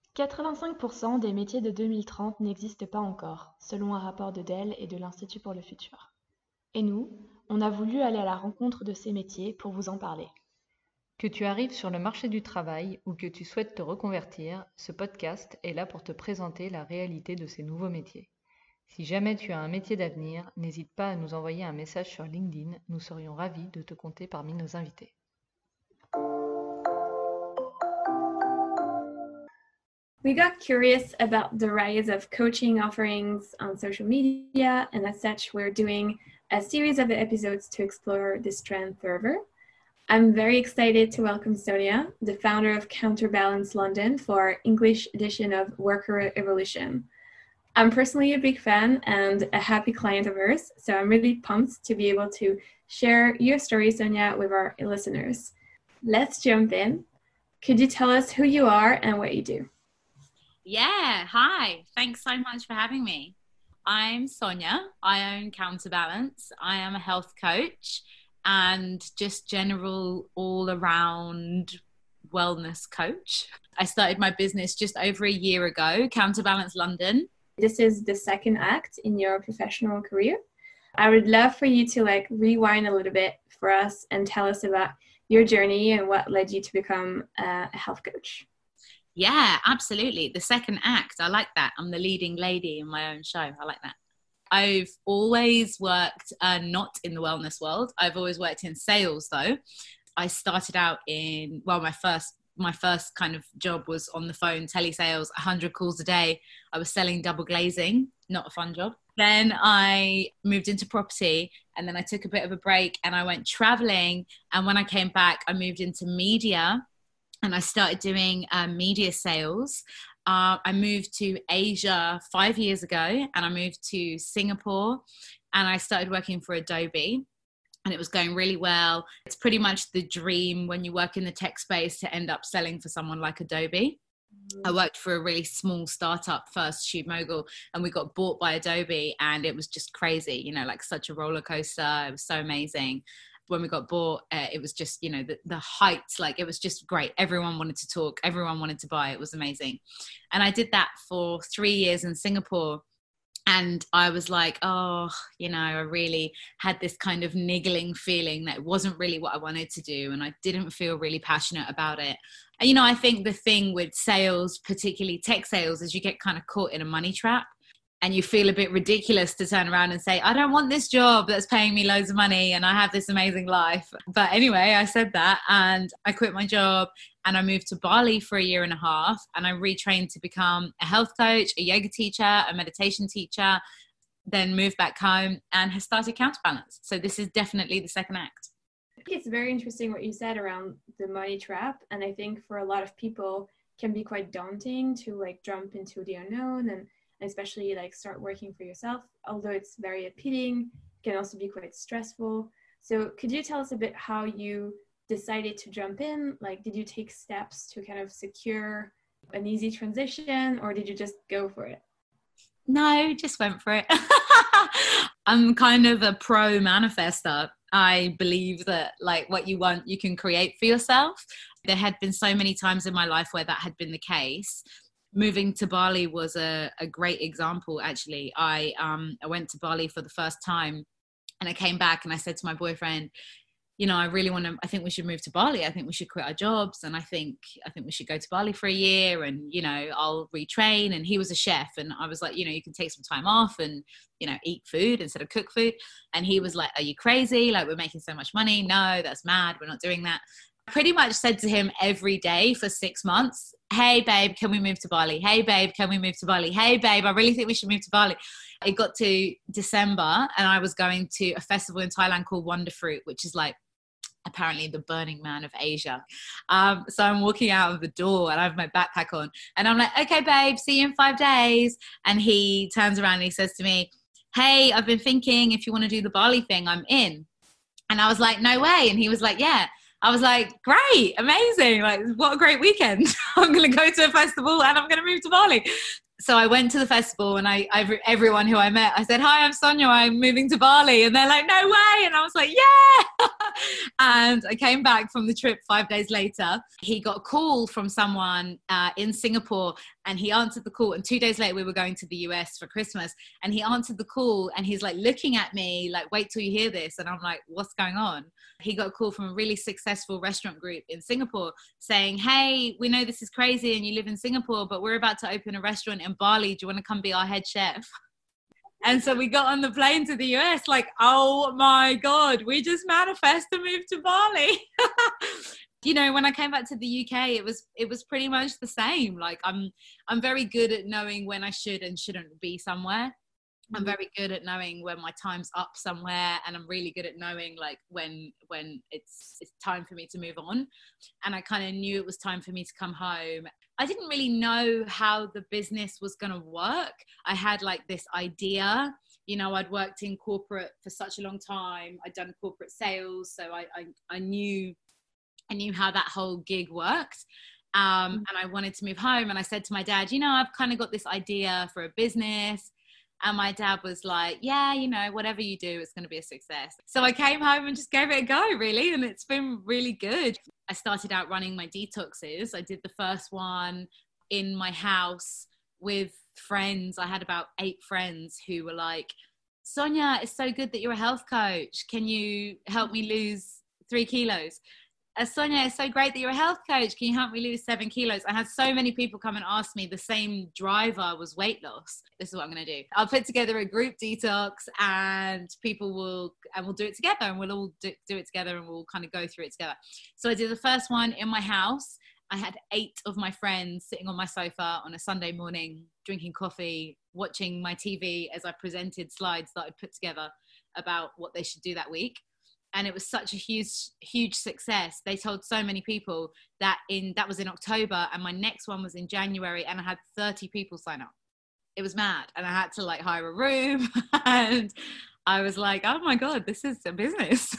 85% des métiers de 2030 n'existent pas encore, selon un rapport de Dell et de l'Institut pour le futur. Et nous, on a voulu aller à la rencontre de ces métiers pour vous en parler. Que tu arrives sur le marché du travail ou que tu souhaites te reconvertir, ce podcast est là pour te présenter la réalité de ces nouveaux métiers. Si jamais tu as un métier d'avenir, n'hésite pas à nous envoyer un message sur LinkedIn, nous serions ravis de te compter parmi nos invités. We got curious about the rise of coaching offerings on social media, and as such, we're doing a series of episodes to explore this trend further. I'm very excited to welcome Sonia, the founder of Counterbalance London, for our English edition of Worker Evolution. I'm personally a big fan and a happy client of hers, so I'm really pumped to be able to share your story, Sonia, with our listeners. Let's jump in. Could you tell us who you are and what you do? Yeah, hi. Thanks so much for having me. I'm Sonia. I own Counterbalance. I am a health coach and just general all-around wellness coach. I started my business just over a year ago, Counterbalance London. This is the second act in your professional career. I would love for you to rewind a little bit for us and tell us about your journey and what led you to become a health coach. Yeah, absolutely. The second act. I like that. I'm the leading lady in my own show. I like that. I've always worked not in the wellness world. I've always worked in sales though. I started out in, my first kind of job was on the phone, telesales, 100 calls a day. I was selling double glazing, not a fun job. Then I moved into property and then I took a bit of a break and I went traveling. And when I came back, I moved into media and I started doing media sales. I moved to Asia 5 years ago and I moved to Singapore and I started working for Adobe and it was going really well. It's pretty much the dream when you work in the tech space to end up selling for someone like Adobe. I worked for a really small startup first, Shoot Mogul, and we got bought by Adobe and it was just crazy, such a roller coaster. It was so amazing. When we got bought, it was just, the heights, it was just great. Everyone wanted to talk. Everyone wanted to buy. It was amazing. And I did that for 3 years in Singapore. And I was like, I really had this kind of niggling feeling that it wasn't really what I wanted to do. And I didn't feel really passionate about it. And, I think the thing with sales, particularly tech sales, is you get kind of caught in a money trap. And you feel a bit ridiculous to turn around and say, I don't want this job that's paying me loads of money and I have this amazing life. But anyway, I said that and I quit my job and I moved to Bali for a year and a half and I retrained to become a health coach, a yoga teacher, a meditation teacher, then moved back home and has started Counterbalance. So this is definitely the second act. I think it's very interesting what you said around the money trap. And I think for a lot of people it can be quite daunting to jump into the unknown and especially start working for yourself, although it's very appealing, it can also be quite stressful. So could you tell us a bit how you decided to jump in? Did you take steps to kind of secure an easy transition or did you just go for it? No, just went for it. I'm kind of a pro manifester. I believe that what you want, you can create for yourself. There had been so many times in my life where that had been the case. Moving to Bali was a great example, actually. I went to Bali for the first time and I came back and I said to my boyfriend, I think we should move to Bali. I think we should quit our jobs. And I think we should go to Bali for a year and, I'll retrain. And he was a chef. And I was like, you can take some time off and, eat food instead of cook food. And he was like, are you crazy? We're making so much money. No, that's mad. We're not doing that. Pretty much said to him every day for 6 months, hey babe, can we move to Bali? Hey babe, can we move to Bali? Hey babe, I really think we should move to Bali. It got to December and I was going to a festival in Thailand called Wonder Fruit, which is apparently the Burning Man of Asia. So I'm walking out of the door and I have my backpack on and I'm like, okay babe, see you in 5 days. And he turns around and he says to me, hey, I've been thinking if you want to do the Bali thing, I'm in. And I was like, no way. And he was like, yeah. I was like, great, amazing. What a great weekend. I'm going to go to a festival and I'm going to move to Bali. So I went to the festival, and everyone who I met, I said, "Hi, I'm Sonia. I'm moving to Bali." And they're like, "No way." And I was like, "Yeah." And I came back from the trip 5 days later. He got a call from someone in Singapore, and he answered the call. And 2 days later, we were going to the US for Christmas, and he answered the call, and he's like looking at me like, "Wait till you hear this." And I'm like, "What's going on?" He got a call from a really successful restaurant group in Singapore saying, "Hey, we know this is crazy and you live in Singapore, but we're about to open a restaurant in Bali. Do you want to come be our head chef?" And so we got on the plane to the US like, oh my God, we just manifest to move to Bali. You know, when I came back to the UK, it was pretty much the same. Like I'm very good at knowing when I should and shouldn't be somewhere. I'm very good at knowing when my time's up somewhere, and I'm really good at knowing like when it's time for me to move on. And I kind of knew it was time for me to come home. I didn't really know how the business was going to work. I had like this idea, you know, I'd worked in corporate for such a long time. I'd done corporate sales. So I knew how that whole gig worked. And I wanted to move home. And I said to my dad, you know, I've kind of got this idea for a business. And my dad was like, yeah, you know, whatever you do, it's going to be a success. So I came home and just gave it a go, really. And it's been really good. I started out running my detoxes. I did the first one in my house with friends. I had about 8 friends who were like, Sonia, it's so good that you're a health coach. Can you help me lose 3 kilos? Sonia, it's so great that you're a health coach. Can you help me lose 7 kilos? I had so many people come and ask me. The same driver was weight loss. This is what I'm going to do. I'll put together a group detox, and we'll do it together, and we'll all do it together, and we'll kind of go through it together. So I did the first one in my house. I had 8 of my friends sitting on my sofa on a Sunday morning, drinking coffee, watching my TV as I presented slides that I'd put together about what they should do that week. And it was such a huge success. They told so many people that was in October, and my next one was in January, and I had 30 people sign up. It was mad. And I had to like hire a room, and I was like, oh my God, this is a business.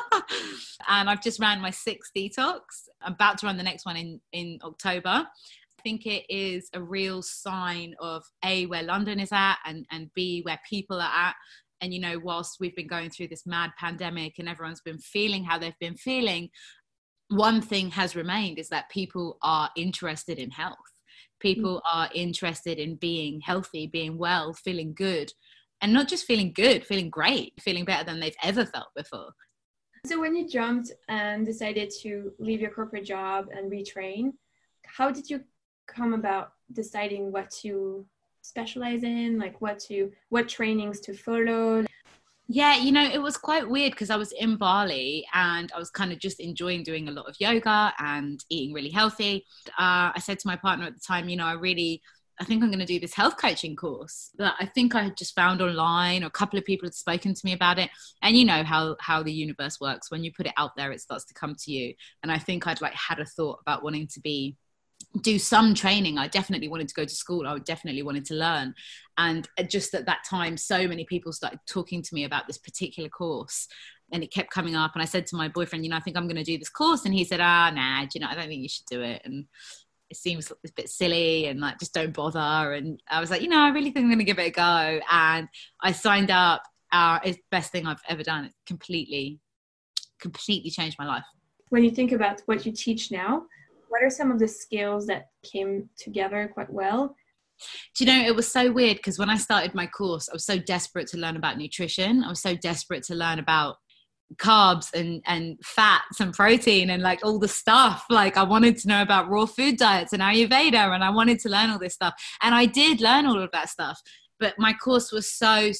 And I've just ran my 6th detox. I'm about to run the next one in October. I think it is a real sign of A, where London is at, and B, where people are at. And, you know, whilst we've been going through this mad pandemic and everyone's been feeling how they've been feeling, one thing has remained is that people are interested in health. People are interested in being healthy, being well, feeling good. And not just feeling good, feeling great, feeling better than they've ever felt before. So when you jumped and decided to leave your corporate job and retrain, how did you come about deciding what to specialize in, like what trainings to follow? Yeah, you know, it was quite weird because I was in Bali and I was kind of just enjoying doing a lot of yoga and eating really healthy. I said to my partner at the time, you know, I think I'm going to do this health coaching course that I think I had just found online, or a couple of people had spoken to me about it. And you know how the universe works. When you put it out there, it starts to come to you. And I think I'd like had a thought about wanting to do some training. I definitely wanted to go to school. I definitely wanted to learn. And just at that time, so many people started talking to me about this particular course, and it kept coming up. And I said to my boyfriend, you know, I think I'm going to do this course. And he said, nah, you know, I don't think you should do it. And it seems a bit silly, and like, just don't bother. And I was like, you know, I really think I'm going to give it a go. And I signed up. It's the best thing I've ever done. It completely changed my life. When you think about what you teach now, what are some of the skills that came together quite well? Do you know, it was so weird because when I started my course, I was so desperate to learn about nutrition. I was so desperate to learn about carbs and fats and protein and like all the stuff. Like I wanted to know about raw food diets and Ayurveda, and I wanted to learn all this stuff. And I did learn all of that stuff. But my course was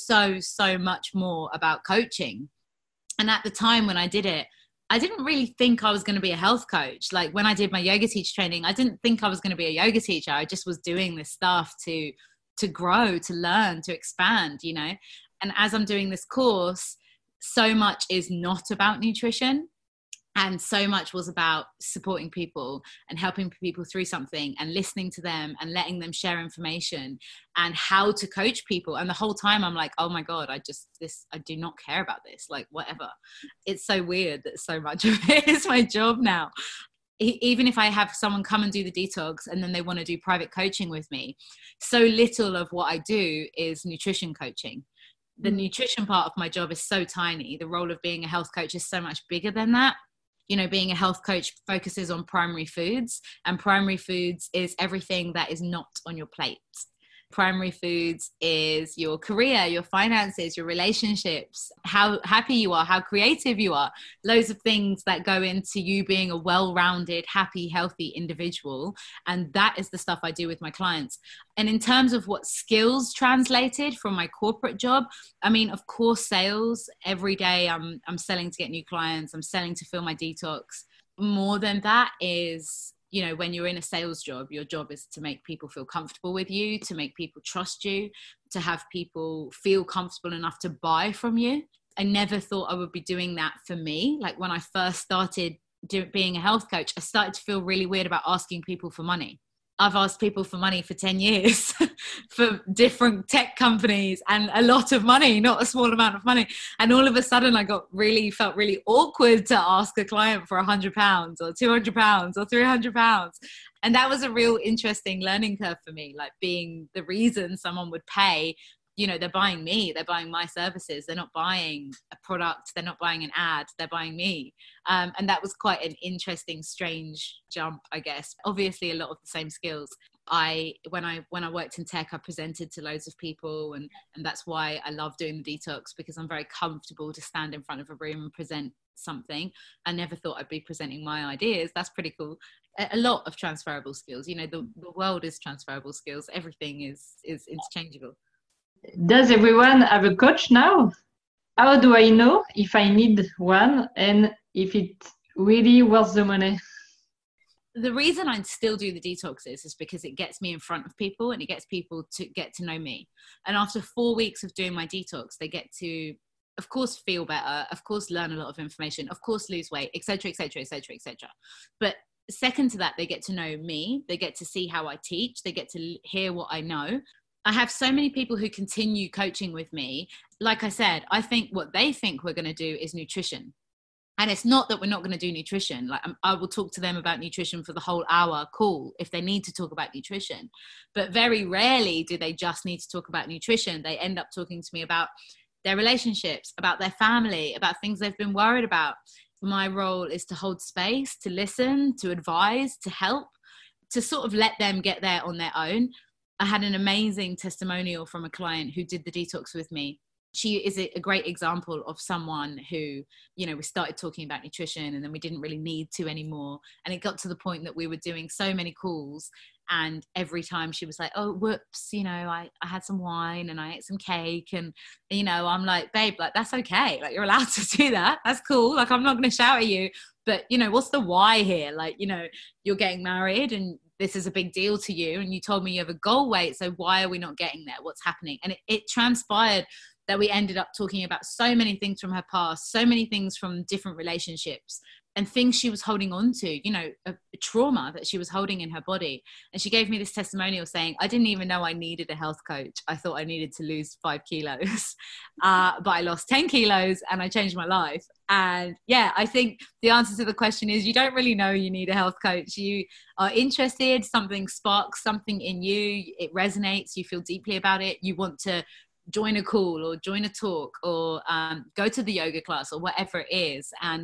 so much more about coaching. And at the time when I did it, I didn't really think I was going to be a health coach. Like when I did my yoga teacher training, I didn't think I was going to be a yoga teacher. I just was doing this stuff to grow, to learn, to expand, you know. And as I'm doing this course, so much is not about nutrition, and so much was about supporting people and helping people through something and listening to them and letting them share information and how to coach people. And the whole time I'm like, oh my God, I do not care about this. Like whatever. It's so weird that so much of it is my job now. even if I have someone come and do the detox and then they want to do private coaching with me, so little of what I do is nutrition coaching. The nutrition part of my job is so tiny. The role of being a health coach is so much bigger than that. You know, being a health coach focuses on primary foods, and primary foods is everything that is not on your plate. Primary foods is your career, your finances, your relationships, how happy you are, how creative you are, loads of things that go into you being a well-rounded, happy, healthy individual. And that is the stuff I do with my clients. And in terms of what skills translated from my corporate job, I mean, of course, sales. Every day I'm selling to get new clients. I'm selling to fill my detox. More than that is, you know, when you're in a sales job, your job is to make people feel comfortable with you, to make people trust you, to have people feel comfortable enough to buy from you. I never thought I would be doing that for me. Like when I first started being a health coach, I started to feel really weird about asking people for money. I've asked people for money for 10 years for different tech companies, and a lot of money, not a small amount of money. And all of a sudden I felt really awkward to ask a client for £100 or £200 or £300. And that was a real interesting learning curve for me, like being the reason someone would pay. You know, they're buying me, they're buying my services. They're not buying a product. They're not buying an ad. They're buying me. And that was quite an interesting, strange jump, I guess. Obviously, a lot of the same skills. When I worked in tech, I presented to loads of people. And that's why I love doing the detox, because I'm very comfortable to stand in front of a room and present something. I never thought I'd be presenting my ideas. That's pretty cool. A lot of transferable skills. You know, the world is transferable skills. Everything is interchangeable. Does everyone have a coach now? How do I know if I need one and if it's really worth the money? The reason I still do the detoxes is because it gets me in front of people and it gets people to get to know me. And after 4 weeks of doing my detox, they get to, of course, feel better, of course, learn a lot of information, of course, lose weight, etc., etc., etc., etc. But second to that, they get to know me. They get to see how I teach. They get to hear what I know. I have so many people who continue coaching with me. Like I said, I think what they think we're going to do is nutrition. And it's not that we're not going to do nutrition. Like I will talk to them about nutrition for the whole hour call if they need to talk about nutrition. But very rarely do they just need to talk about nutrition. They end up talking to me about their relationships, about their family, about things they've been worried about. My role is to hold space, to listen, to advise, to help, to sort of let them get there on their own. I had an amazing testimonial from a client who did the detox with me. She is a great example of someone who, you know, we started talking about nutrition and then we didn't really need to anymore. And it got to the point that we were doing so many calls, and every time she was like, oh, whoops, you know, I had some wine and I ate some cake. And, you know, I'm like, babe, like, that's okay. Like, you're allowed to do that. That's cool. Like, I'm not going to shout at you. But, you know, what's the why here? Like, you know, you're getting married and this is a big deal to you. And you told me you have a goal weight. So why are we not getting there? What's happening? And it transpired that we ended up talking about so many things from her past, so many things from different relationships and things she was holding on to, you know, a trauma that she was holding in her body. And she gave me this testimonial saying, I didn't even know I needed a health coach. I thought I needed to lose 5 kilos, but I lost 10 kilos and I changed my life. And yeah, I think the answer to the question is you don't really know you need a health coach. You are interested, something sparks something in you, it resonates, you feel deeply about it, you want to join a call or join a talk or go to the yoga class or whatever it is. And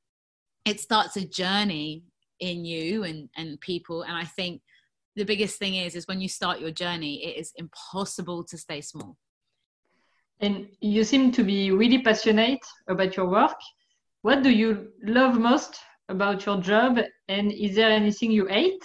it starts a journey in you and people. And I think the biggest thing is when you start your journey, it is impossible to stay small. And you seem to be really passionate about your work. What do you love most about your job? And is there anything you hate?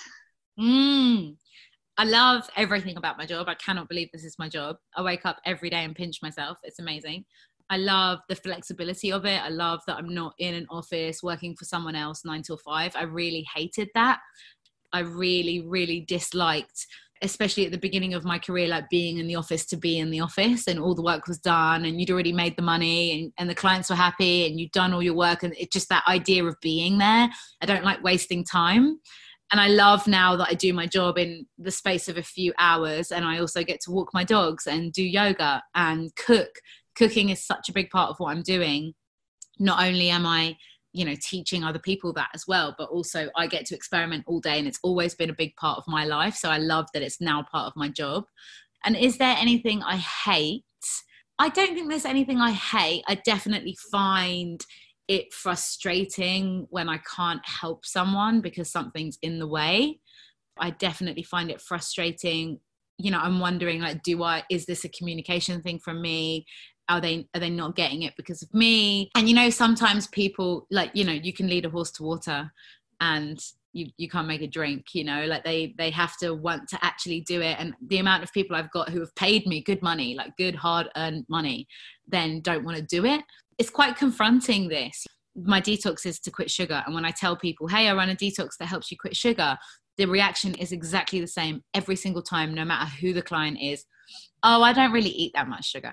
I love everything about my job. I cannot believe this is my job. I wake up every day and pinch myself. It's amazing. I love the flexibility of it. I love that I'm not in an office working for someone else 9 till 5. I really hated that. I really, really disliked, especially at the beginning of my career, like being in the office to be in the office and all the work was done and you'd already made the money and the clients were happy and you'd done all your work. And it's just that idea of being there. I don't like wasting time. And I love now that I do my job in the space of a few hours and I also get to walk my dogs and do yoga and cook. Cooking is such a big part of what I'm doing. Not only am I you know, teaching other people that as well. But also I get to experiment all day, and it's always been a big part of my life. So I love that it's now part of my job. And is there anything I hate? I don't think there's anything I hate. I definitely find it frustrating when I can't help someone because something's in the way. I definitely find it frustrating. You know, I'm wondering, like, is this a communication thing from me? Are they not getting it because of me? And, you know, sometimes people, like, you know, you can lead a horse to water and you can't make a drink, you know, like they have to want to actually do it. And the amount of people I've got who have paid me good money, like good hard earned money, then don't want to do it. It's quite confronting, this. My detox is to quit sugar. And when I tell people, hey, I run a detox that helps you quit sugar, the reaction is exactly the same every single time, no matter who the client is. Oh, I don't really eat that much sugar.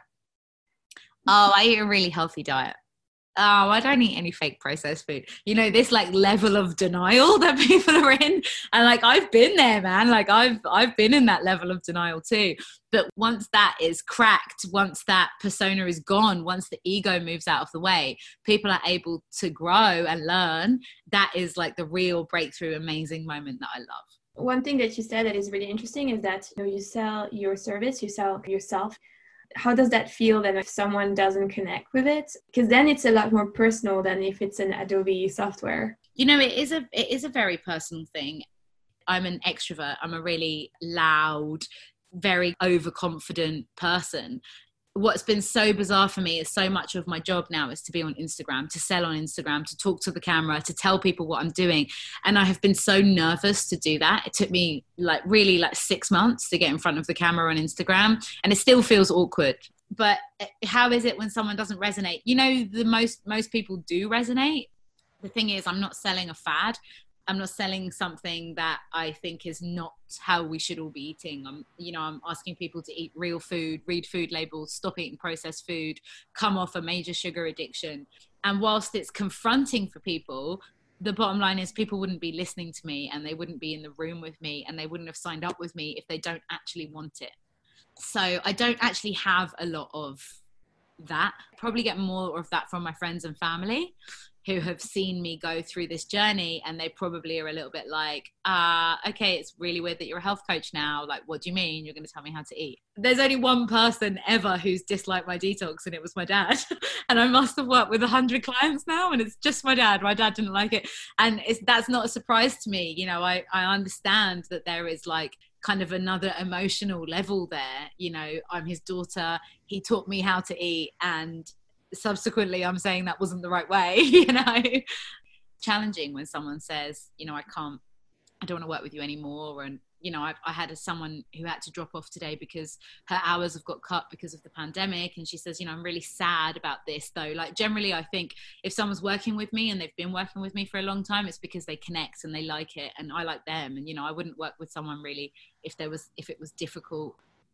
Oh, I eat a really healthy diet. Oh, I don't eat any fake processed food. You know, this like level of denial that people are in. And like, I've been there, man. Like I've been in that level of denial too. But once that is cracked, once that persona is gone, once the ego moves out of the way, people are able to grow and learn. That is like the real breakthrough, amazing moment that I love. One thing that you said that is really interesting is that, you know, you sell your service, you sell yourself. How does that feel then if someone doesn't connect with it? Because then it's a lot more personal than if it's an Adobe software. You know, it is a very personal thing. I'm an extrovert. I'm a really loud, very overconfident person. What's been so bizarre for me is so much of my job now is to be on Instagram, to sell on Instagram, to talk to the camera, to tell people what I'm doing. And I have been so nervous to do that. It took me like really like 6 months to get in front of the camera on Instagram, and it still feels awkward. But how is it when someone doesn't resonate? You know, most people do resonate. The thing is, I'm not selling a fad. I'm not selling something that I think is not how we should all be eating. I'm asking people to eat real food, read food labels, stop eating processed food, come off a major sugar addiction. And whilst it's confronting for people, the bottom line is people wouldn't be listening to me, and they wouldn't be in the room with me, and they wouldn't have signed up with me if they don't actually want it. So I don't actually have a lot of that. I probably get more of that from my friends and family who have seen me go through this journey, and they probably are a little bit like, okay, it's really weird that you're a health coach now. Like, what do you mean you're going to tell me how to eat? There's only one person ever who's disliked my detox, and it was my dad. And I must have worked with 100 clients now, and it's just my dad. My dad didn't like it. And that's not a surprise to me. You know, I understand that there is like kind of another emotional level there. You know, I'm his daughter. He taught me how to eat, and subsequently I'm saying that wasn't the right way. You know, challenging when someone says, you know, I don't want to work with you anymore. And you know, I had someone who had to drop off today because her hours have got cut because of the pandemic, and she says, you know, I'm really sad about this though. Like, generally I think if someone's working with me and they've been working with me for a long time, it's because they connect and they like it, and I like them. And you know, I wouldn't work with someone really if it was difficult.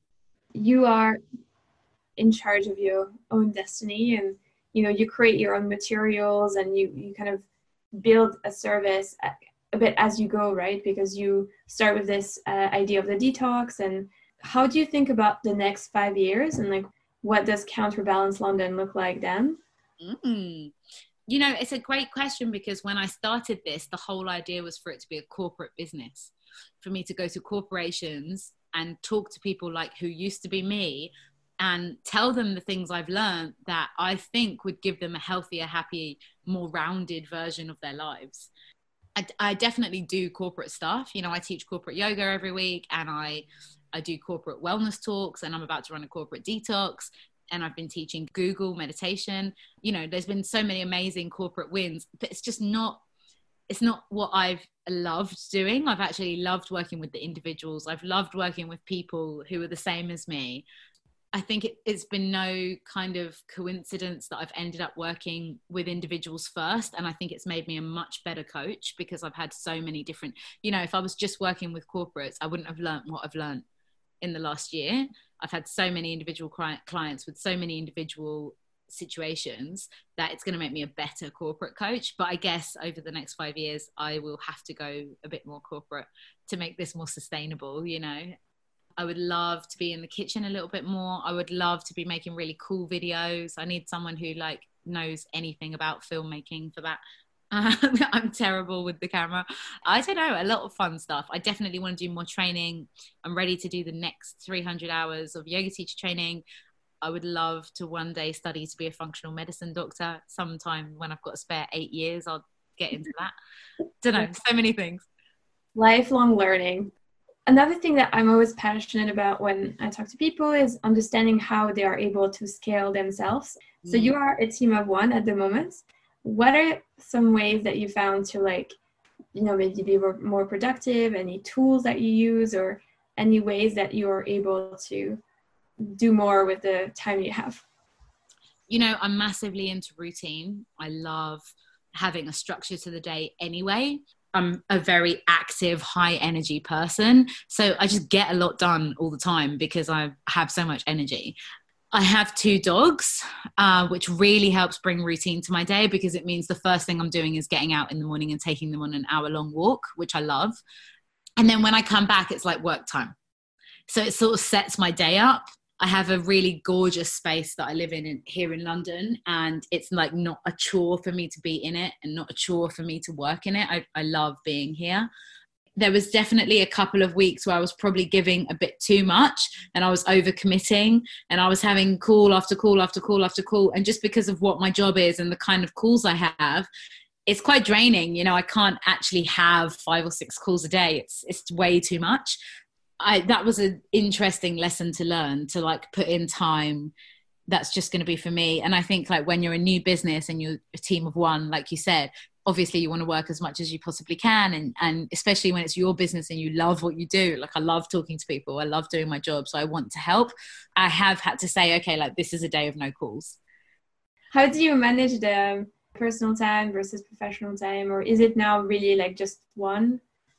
You are in charge of your own destiny, and you know, you create your own materials, and you kind of build a service a bit as you go, right? Because you start with this idea of the detox. And how do you think about the next 5 years, and like, what does Counterbalance London look like then? You know, it's a great question, because when I started this, the whole idea was for it to be a corporate business, for me to go to corporations and talk to people like who used to be me, and tell them the things I've learned that I think would give them a healthier, happy, more rounded version of their lives. I definitely do corporate stuff. You know, I teach corporate yoga every week, and I do corporate wellness talks, and I'm about to run a corporate detox, and I've been teaching Google meditation. You know, there's been so many amazing corporate wins, but it's not what I've loved doing. I've actually loved working with the individuals. I've loved working with people who are the same as me. I think it's been no kind of coincidence that I've ended up working with individuals first. And I think it's made me a much better coach, because I've had so many different, you know, if I was just working with corporates, I wouldn't have learned what I've learned in the last year. I've had so many individual clients with so many individual situations that it's going to make me a better corporate coach. But I guess over the next 5 years, I will have to go a bit more corporate to make this more sustainable, you know. I would love to be in the kitchen a little bit more. I would love to be making really cool videos. I need someone who like knows anything about filmmaking for that. I'm terrible with the camera. I don't know, a lot of fun stuff. I definitely want to do more training. I'm ready to do the next 300 hours of yoga teacher training. I would love to one day study to be a functional medicine doctor. Sometime when I've got a spare 8 years, I'll get into that. Don't know, so many things. Lifelong learning. Another thing that I'm always passionate about when I talk to people is understanding how they are able to scale themselves. So you are a team of one at the moment. What are some ways that you found to maybe be more productive? Any tools that you use, or any ways that you are able to do more with the time you have? I'm massively into routine. I love having a structure to the day anyway. I'm a very active, high energy person. So I just get a lot done all the time because I have so much energy. I have 2 dogs, which really helps bring routine to my day, because it means the first thing I'm doing is getting out in the morning and taking them on an hour-long walk, which I love. And then when I come back, it's like work time. So it sort of sets my day up. I have a really gorgeous space that I live in here in London, and it's like not a chore for me to be in it and not a chore for me to work in it. I love being here. There was definitely a couple of weeks where I was probably giving a bit too much and I was overcommitting, and I was having call after call after call after call. And just because of what my job is and the kind of calls I have, it's quite draining. I can't actually have 5 or 6 calls a day. It's way too much. That was an interesting lesson to learn, to put in time. That's just going to be for me. And I think when you're a new business and you're a team of one, like you said, obviously you want to work as much as you possibly can. And especially when it's your business and you love what you do. I love talking to people. I love doing my job. So I want to help. I have had to say, okay, this is a day of no calls. How do you manage the personal time versus professional time? Or is it now really just one?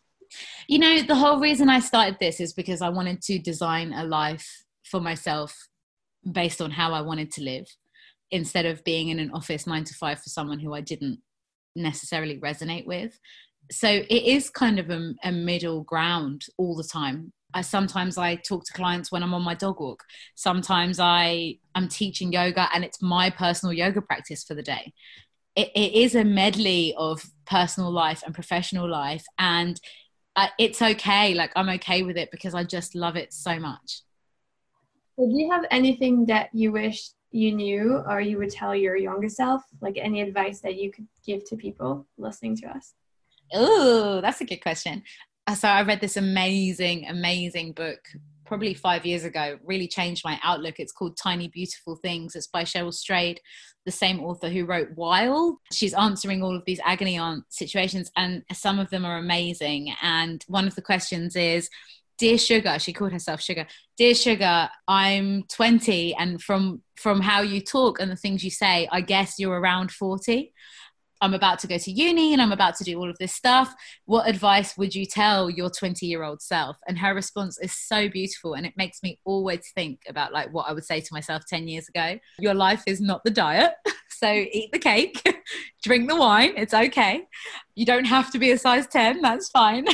The whole reason I started this is because I wanted to design a life for myself based on how I wanted to live, instead of being in an office 9 to 5 for someone who I didn't necessarily resonate with. So it is kind of a middle ground all the time. Sometimes I talk to clients when I'm on my dog walk. Sometimes I'm teaching yoga and it's my personal yoga practice for the day. It is a medley of personal life and professional life, and it's okay. I'm okay with it because I just love it so much. So do you have anything that you wish you knew or you would tell your younger self? Any advice that you could give to people listening to us? Oh, that's a good question. So I read this amazing book probably 5 years ago, really changed my outlook. It's called Tiny Beautiful Things. It's by Cheryl Strayed, the same author who wrote Wild. She's answering all of these agony aunt situations, and some of them are amazing. And one of the questions is, Dear Sugar, she called herself Sugar. Dear Sugar, I'm 20, and from how you talk and the things you say, I guess you're around 40. I'm about to go to uni and I'm about to do all of this stuff. What advice would you tell your 20-year-old self? And her response is so beautiful, and it makes me always think about what I would say to myself 10 years ago. Your life is not the diet. So eat the cake, drink the wine. It's okay. You don't have to be a size 10. That's fine.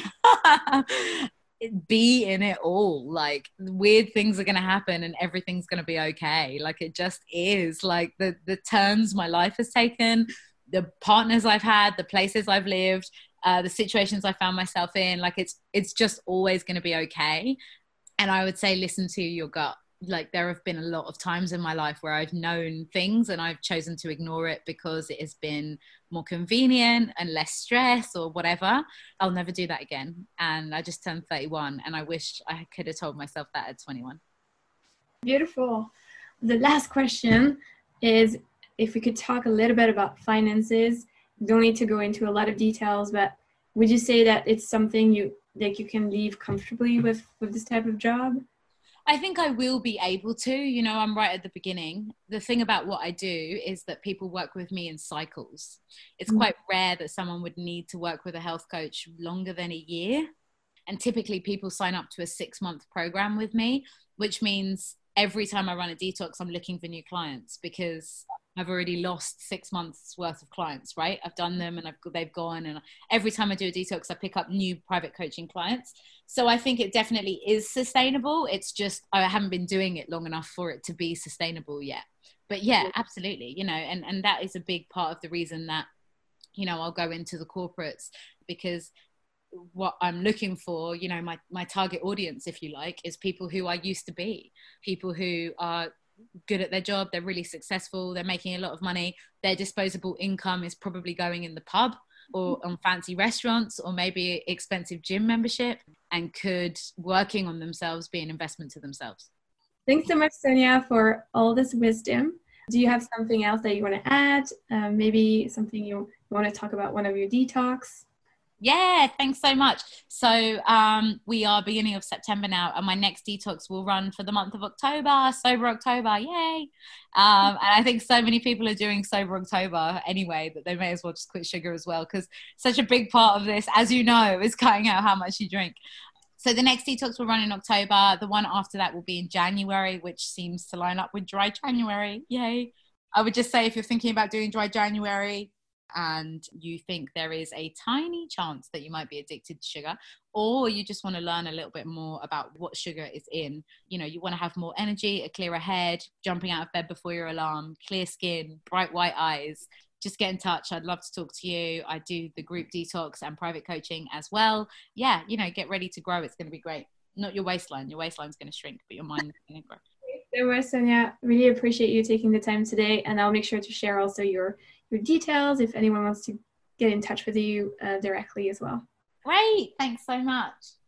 Be in it all. Weird things are going to happen and everything's going to be okay. It just is. The turns my life has taken, the partners I've had, the places I've lived, the situations I found myself in, it's just always going to be okay. And I would say, listen to your gut. There have been a lot of times in my life where I've known things and I've chosen to ignore it because it has been more convenient and less stress or whatever. I'll never do that again. And I just turned 31 and I wish I could have told myself that at 21. Beautiful. The last question is, if we could talk a little bit about finances. Don't need to go into a lot of details, but would you say that it's something you can live comfortably with this type of job? I think I will be able to. I'm right at the beginning. The thing about what I do is that people work with me in cycles. It's quite rare that someone would need to work with a health coach longer than a year. And typically people sign up to a 6-month program with me, which means every time I run a detox, I'm looking for new clients because I've already lost 6 months worth of clients, right? I've done them and they've gone. And every time I do a detox, I pick up new private coaching clients. So I think it definitely is sustainable. It's just, I haven't been doing it long enough for it to be sustainable yet. But yeah, absolutely. And that is a big part of the reason that you know, I'll go into the corporates, because what I'm looking for, you know, my target audience, if you like, is people who I used to be, people who are good at their job, they're really successful, they're making a lot of money, their disposable income is probably going in the pub or on fancy restaurants or maybe expensive gym membership, and could working on themselves be an investment to themselves. Thanks so much, Sonia, for all this wisdom. Do you have something else that you want to add? Maybe something you want to talk about, one of your detox? Yeah, thanks so much. So we are beginning of September now, and my next detox will run for the month of October, Sober October, yay. And I think so many people are doing Sober October anyway that they may as well just quit sugar as well, because such a big part of this, as you know, is cutting out how much you drink. So the next detox will run in October. The one after that will be in January, which seems to line up with Dry January, yay. I would just say, if you're thinking about doing Dry January, and you think there is a tiny chance that you might be addicted to sugar, or you just want to learn a little bit more about what sugar is in, you know, you want to have more energy, a clearer head, jumping out of bed before your alarm, clear skin, bright white eyes, just get in touch. I'd love to talk to you. I do the group detox and private coaching as well. Yeah, you know, get ready to grow. It's going to be great. Not your waistline. Your waistline's going to shrink, but your mind is going to grow. So much, Sonia. Really appreciate you taking the time today, and I'll make sure to share also your details if anyone wants to get in touch with you directly as well. Great. Thanks so much.